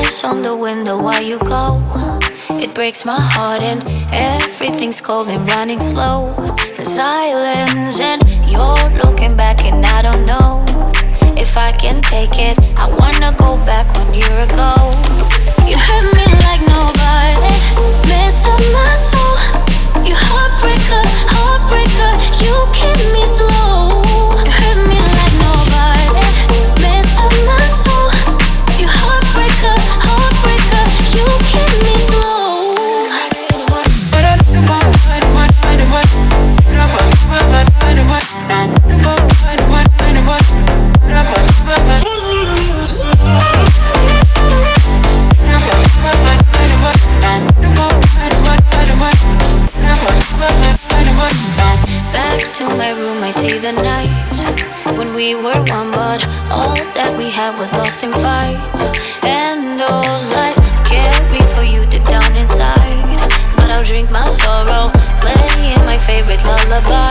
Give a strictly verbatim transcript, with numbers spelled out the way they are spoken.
wish on the window while you go. It breaks my heart and everything's cold and running slow. In silence and you're looking back and I don't know if I can take it. I wanna go back one year ago. You hurt me like nobody, messed up my soul. You heartbreaker, heartbreaker, you keep me slow. You hurt me like nobody, messed up my soul. You heartbreaker, heartbreaker, you keep me slow. Back to my room, I see the night when we were one, but all that we had was lost in fight. And those lies carry for you deep down inside. But I'll drink my sorrow, playing my favorite lullaby.